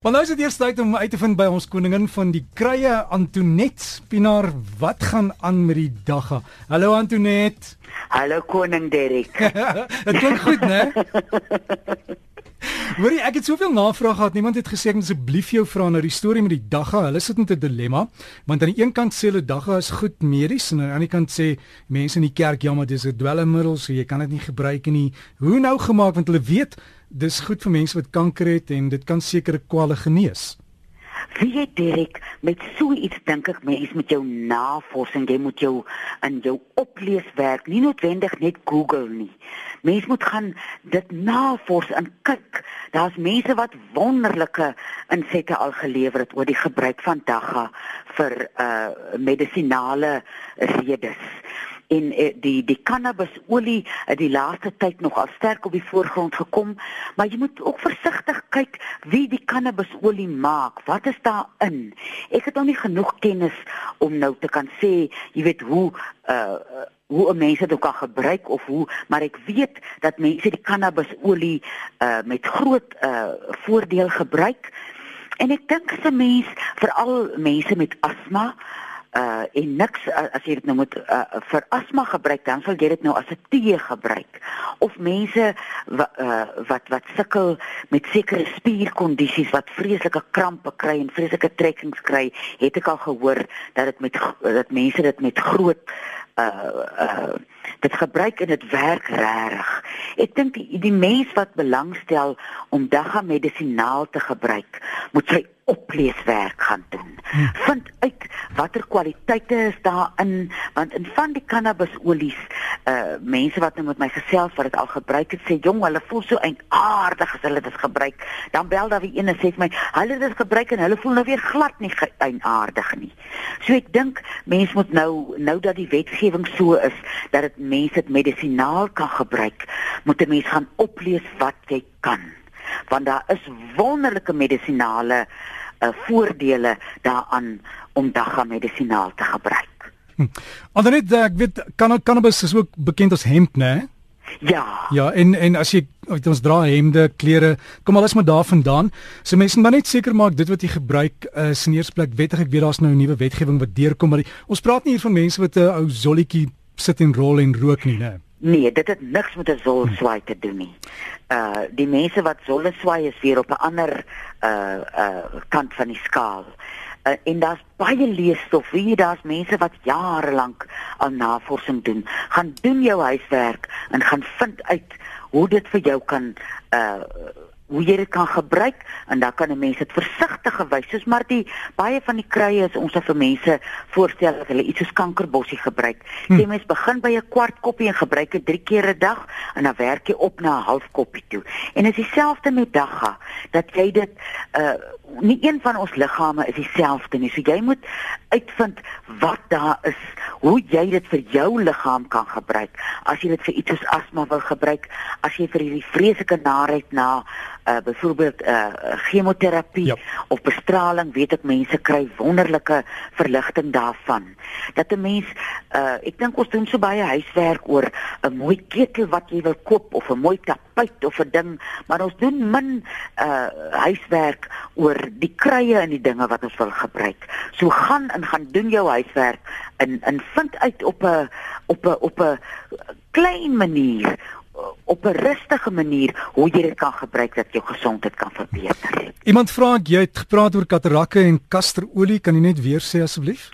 Maar nou is dit eers tyd om uit te vind by ons koningin van die krye, Antoinette Pinaar. Wat gaan aan met die dagga? Hallo Antoinette. Hallo koning Derek. Dit klink goed, né? Hoorie, ek het soveel navraag gehad. Niemand het gesê ek moet asseblief jou vra na die storie met die dagga. Hulle sit met 'n dilemma, want aan die een kant sê hulle dagga is goed medies en aan die ander kant sê mense in die kerk ja, maar dis 'n dwelmmiddel, so jy kan dit nie gebruik nie. Hoe nou gemaak, want hulle weet dis goed vir mense wat kanker het en dit kan sekere kwale genees. Wie jy Derek, met so iets dink ek mens met jou navorsing, jy moet jou in jou opleeswerk, nie noodwendig net Google nie. Mens moet gaan dit navors en kyk. Daar's mense wat wonderlike insette al gelewer het oor die gebruik van dagga vir medisinale redes. En die cannabisolie het die laaste tyd nogal sterk op die voorgrond gekom, maar jy moet ook versigtig kyk wie die cannabisolie maak. Wat is daarin? Ek het nog nie genoeg kennis om nou te kan sê, jy weet hoe 'n mens dit ook kan gebruik of hoe, maar ek weet dat mense die cannabisolie met groot voordeel gebruik. En ek dink as 'n mens, veral mense met asma, en niks, as jy dit nou moet vir asma gebruik, dan sal jy dit nou as 'n tee gebruik. Of mense wat sukkel met sekere spierkondisies, wat vreeslike krampe kry en vreeslike trekkings kry, het ek al gehoor dat mense dit met groot dit gebruik en dit werk regtig. Ek dink die mens wat belangstel om dagga medisinaal te gebruik, moet sy opleeswerk gaan doen. Vind uit watter kwaliteite is daarin, want in van die cannabisolies, mense wat nou met my gesels wat dit al gebruik het, sê jong, hulle voel so aardig as hulle dit gebruik. Dan bel daar wie een en sê vir my, hulle het dit gebruik en hulle voel nou weer glad nie aardig nie. So ek dink mens moet nou dat die wetgewing so is dat dit mense dit medisinaal kan gebruik, moet 'n mens gaan oplees wat jy kan. Want daar is wonderlike medisinale voordele daaraan om dagga medisinaal te gebruik. Antoinette, ek weet cannabis is ook bekend as hemp, né? Ja. Ja, en as jy ons dra hemde, klere, kom alles maar daar vandaan. So mense moet maar net seker maak dit wat jy gebruik is in eerste plek wettig. Ek weet daar's nou 'n nuwe wetgewing wat deurkom, maar ons praat nie hier van mense wat 'n ou zolletjie sit en rol en rook nie, né? Nee, dit het niks met 'n zolswaai te doen nie. Die mense wat zolleswaai is weer op 'n ander kant van die skaal. En daar's baie leesstof. Daar's mense wat jare lank al navorsing doen. Gaan doen jou huiswerk en gaan vind uit hoe dit vir jou kan hoe jy dit kan gebruik, en dan kan 'n mens dit versigtig gewys, soos maar baie van die krye is ons vir mense voorstel dat hulle iets soos kankerbossie gebruik. Jy mens begin by 'n kwart koppie en gebruik dit 3 keer 'n dag, en dan werk jy op na 'n half koppie toe. En is dieselfde met dagga, dat jy dit nie een van ons liggame is dieselfde nie. So jy moet uitvind wat daar is, hoe jy dit vir jou liggaam kan gebruik. As jy dit vir iets soos asma wil gebruik, as jy vir hierdie vreeslike naheid na byvoorbeeld chemoterapie, ja, of bestraling, weet ek mense kry wonderlike verligting daarvan. Dat 'n mens, ek dink ons doen so baie huiswerk oor 'n mooi ketel wat jy wil koop, of 'n mooi tapuit of 'n ding, maar ons doen min huiswerk oor die krye en die dinge wat ons wil gebruik. So gaan doen jou huiswerk en vind uit op 'n klein manier, op 'n rustige manier, hoe jy dit kan gebruik dat jou gesondheid kan verbeter. Iemand vra, jy het gepraat oor katarakke en kasterolie, kan jy net weer sê asseblief?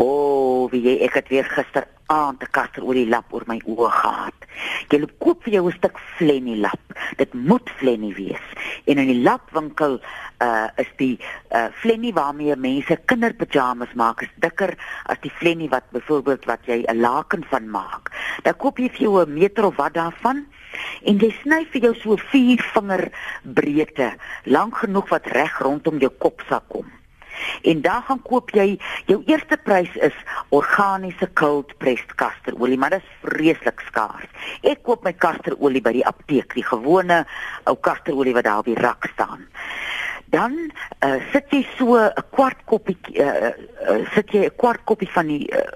Ek het weer gisteraand 'n kasterolie lap oor my oë gehad. Jy koop vir jou 'n stuk Flenny lap. Dit moet Flenny wees. En in die lapwinkel is die Flenny waarmee mense kinderpyjamas maak, is dikker as die Flenny wat byvoorbeeld wat jy 'n laken van maak. Dan koop jy vir jou 1 meter of wat daarvan, en jy sny vir jou so 4 vinger breedte, lank genoeg wat reg rondom jou kopsak kom. En dan gaan koop jy, jou eerste prys is organiese cold pressed kasterolie, maar dit is vreeslik skaars. Ek koop my kasterolie by die apteek, die gewone ou kasterolie wat daar op die rak staan. Dan sit jy so 'n kwart koppie van die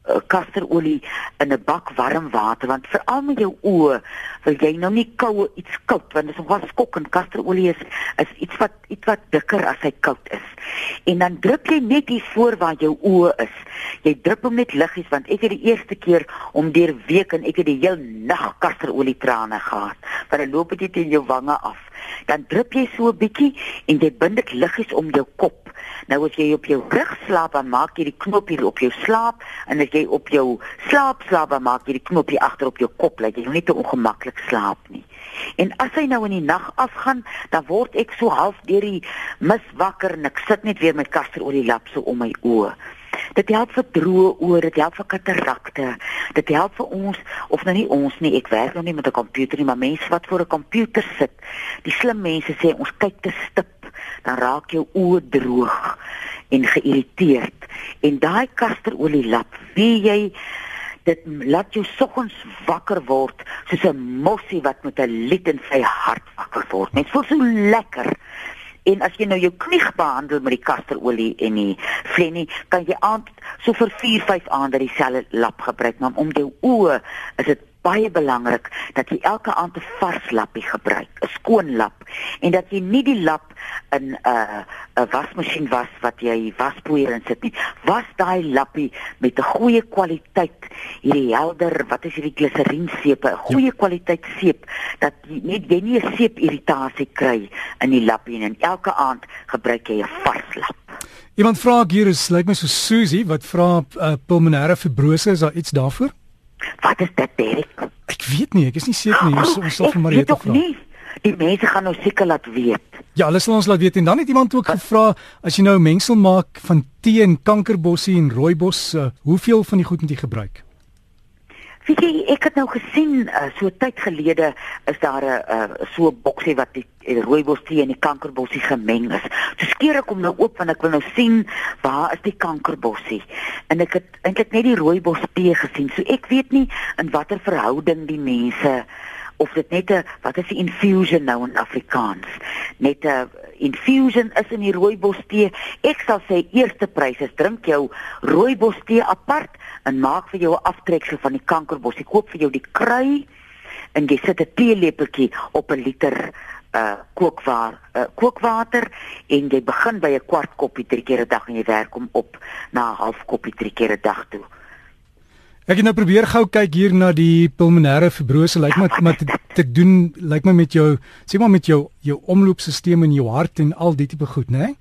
kasterolie in 'n bak warm water, want veral met jou oë wil jy nou nie iets koud, want dit is nogal skokkend. Kasterolie is iets wat dikker as hy koud is. En dan drup jy net hier voor waar jou oë is. Jy drup hom net liggies, want ek het die eerste keer om deur week en ek het die heel nag kasterolie trane gehad, want dan loop dit teen jou wange af. Dan drup jy so 'n bietjie en jy bind dit liggies om jou kop. Nou as jy op jou rug slaap, dan maak jy die knoppie op jou slaap, en as jy op jou slaap, dan maak jy die knoppie agter op jou kop, laat jy nou nie te ongemaklik slaap nie. En as hy nou in die nag afgaan, dan word ek so half deur die mis wakker en ek sit net weer met kasterolie lap so om my oë. Dit help vir droë oë, dit help vir katarakte, dit help vir ons, of nou nie ons nie, ek werk nou nie met 'n komputer nie, maar mense wat voor 'n komputer sit, die slim mense sê, ons kyk te stip, dan raak jou oë droog en geïrriteerd. En daai kasterolie lap, wie jy, dit laat jou soggens wakker word, soos 'n mossie wat met 'n lied in sy hart wakker word. Net voel so lekker. En as jy nou jou knie behandel met die kasterolie en die flennie, kan jy aand so vir 4-5 aande dieselfde lap gebruik, maar om jou oë is dit baie belangrik dat jy elke aand 'n vars lappie gebruik, 'n skoon lap, en dat jy nie die lap in 'n wasmasjien was wat jy waspoeier in sit nie. Was daai lappie met 'n goeie kwaliteit, hierdie helder, wat is hierdie gliserienseepe, 'n goeie kwaliteit seep, dat jy nie 'n seepirritasie kry in die lappie, en elke aand gebruik jy 'n vars lap. Iemand vra hier, lyk my so Susie, wat vra pulmonêre fibrose, is daar iets daarvoor? Wat is dit, Derek? Ek weet nie, ek is nie seker nie. Ons sal vir Marieta vra. Nie. Die mense gaan nou seker laat weet. Ja, hulle sal ons laat weet. En dan het iemand ook gevra, as jy nou 'n mengsel maak van tee en kankerbossie en rooibos, hoeveel van die goed moet jy gebruik? Weet jy, ek het nou gesien, so 'n tyd gelede is daar 'n so 'n boksie wat die rooibos tee en die kankerbossie gemeng is. So skeer ek hom nou oop, want ek wil nou sien waar is die kankerbossie. En ek het eintlik net die rooibos tee gesien. So ek weet nie in watter verhouding die mense, of dit net 'n, wat is die infusion nou in Afrikaans? Net 'n infusion is in die rooibos tee. Ek sal sê eerste prys is drink jou rooibos tee apart en maak vir jou 'n aftreksel van die kankerbossie. Koop vir jou die krui en jy sit 'n teelepeltjie op 'n liter kookwater en jy begin by 'n kwart koppie 3 keer 'n dag en jy werk hom op na 'n half koppie 3 keer 'n dag toe. Ek het nou probeer gou kyk hier na die pulmonêre fibrose, lyk my te doen, lyk my met jou, sê maar met jou omloopstelsel in jou hart en al die tipe goed, né?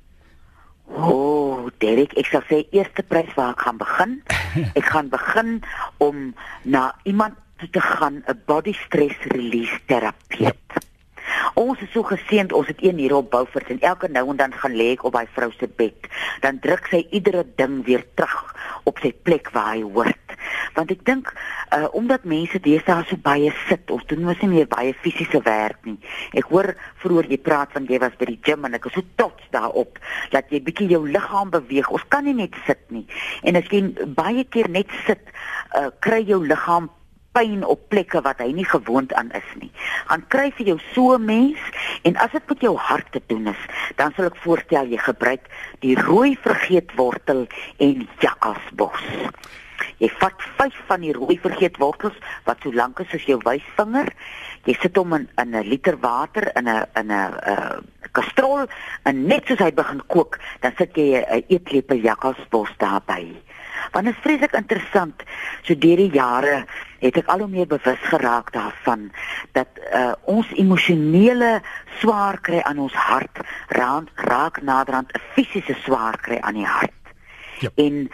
Derek, ek sal sê eerste prys waar ek gaan begin. Ek gaan begin om na iemand te gaan, 'n body stress release terapeut. Ons is so geseënd, ons het een hier op Beaufort en elke nou en dan gaan lê ek op daai vrou se bed. Dan druk sy iedere ding weer terug op sy plek waar hy hoort. Want ek dink, omdat mense deesdae so baie sit, of doen mos nie meer baie fisiese werk nie. Ek hoor vroeër jy praat van jy was by die gym en ek is so trots daarop, dat jy bietjie jou liggaam beweeg. Ons kan nie net sit nie. En as jy baie keer net sit, kry jou liggaam pyn op plekke wat hy nie gewoond aan is nie. Gaan kry vir jou so 'n mens, en as dit met jou hart te doen is, dan sal ek voorstel jy gebruik die rooi vergeetwortel en jakkalsbos. Jy vat 5 van die rooi vergeetwortels wat so lank is soos jou wysvinger. Jy sit hom in 'n liter water in 'n kastrol, en net soos hy begin kook, dan sit jy 'n eetlepel jakkalsbos daarbey. Want dit is vreeslik interessant, so deur die jare het ek al hoe meer bewus geraak daarvan dat ons emosionele swaar kry aan ons hart raak naderhand 'n fisiese swaar kry aan die hart. Yep. En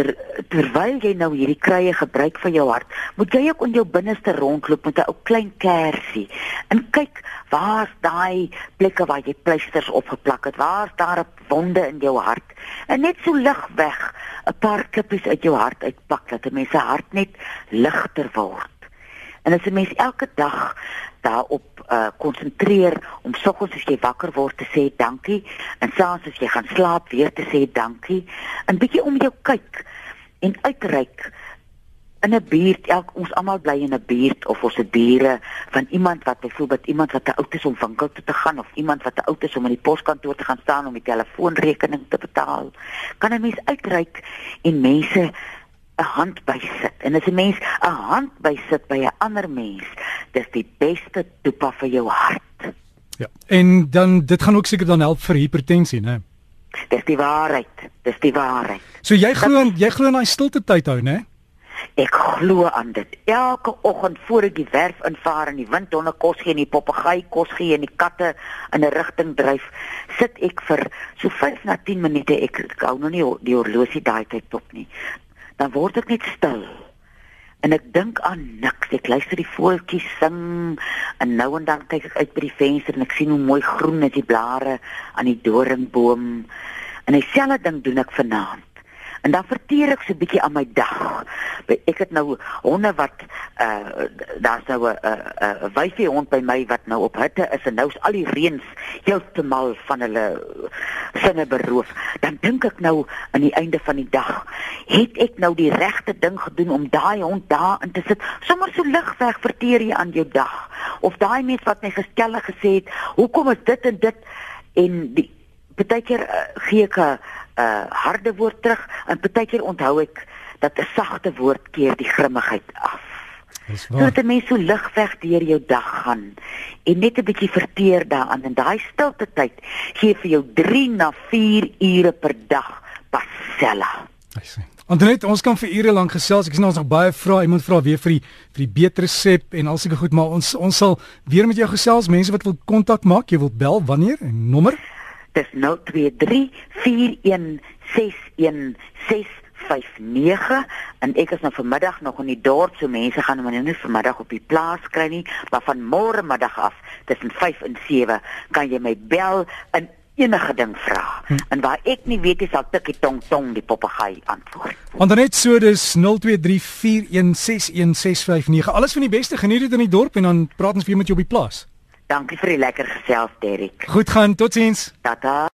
terwyl jy nou hierdie kruie gebruik vir jou hart, moet jy ook in jou binneste rondloop met 'n ou klein kersie en kyk waar's daai plekke waar jy pleisters opgeplak het, waar's daar 'n wonde in jou hart, en net so lig weg 'n paar klippies uit jou hart uitpak, dat 'n mens se hart net ligter word. En as 'n mens elke dag daarop konsentreer om soggens as jy wakker word te sê dankie, en saans as jy gaan slaap weer te sê dankie, en bietjie om jou kyk en uitreik in 'n buurt, ons almal bly in 'n buurt, of ons het bure van iemand wat byvoorbeeld iemand wat te oud is om winkel toe te gaan, of iemand wat te oud is om in die poskantoor te gaan staan om die telefoonrekening te betaal. Kan 'n mens uitreik en mense 'n hand by sit. En as 'n mens 'n hand by sit by 'n ander mens, dis die beste toepa vir jou hart. Ja. En dan dit gaan ook seker dan help vir hipertensie, né? Dis die waarheid. Dis die waarheid. So jy glo in daai stilte tyd hou, né? Ek glo aan dit. Elke oggend voor ek die werf invaar en die windhonde kos gee en die papegaai kos gee en die katte in 'n rigting dryf, sit ek vir so 5 na 10 minute, ek hou nog nie die horlosie daai tyd op nie. Dan word ek net stil. En ek dink aan niks. Ek luister die voeltjies sing en nou en dan kyk ek uit by die venster en ek sien hoe mooi groen is die blare aan die doringboom. En dieselfde ding doen ek vanaand. En dan verteer ek so 'n bietjie aan my dag. Ek het nou honde wat daar's nou 'n wyfie hond by my wat nou op hitte is en nou is al die reëns heeltemal van hulle sinne beroof. Dan dink ek nou aan die einde van die dag, het ek nou die regte ding gedoen om daai hond daar in te sit? Sommers so ligweg verteer jy aan jou dag. Of daai mens wat my geskellig gesê het, hoekom is dit en dit en die partykeer gee ek 'n harde woord terug en partykeer onthou ek dat 'n sagte woord keer die grimmigheid af. Sodat 'n mens so ligweg deur jou dag gaan en net 'n bietjie verteer daaraan en daai stilte tyd gee vir jou 3 na 4 ure per dag pasella. Antoinette, ons kan vir ure lank gesels. Ek sien ons nog baie vrae. Iemand vra weer vir die beter resep en al sulke goed, maar ons sal weer met jou gesels. Mense wat wil kontak maak, jy wil bel wanneer en nommer? Dis 023-416-1659 en ek is nou vanmiddag nog in die dorp, so mense gaan my nou nie vanmiddag op die plaas kry nie, maar van môre middag af tussen 5 en 7 kan jy my bel en enige ding vra. En waar ek nie weet is, sal tikkie tong tong die papegaai antwoord. Antoinette, so dis 023-416-1659. Alles van die beste, geniet dit in die dorp en dan praat ons weer met jou op die plaas. Dankie vir die lekker gesels, Derek. Goed gaan, totsiens. Tata.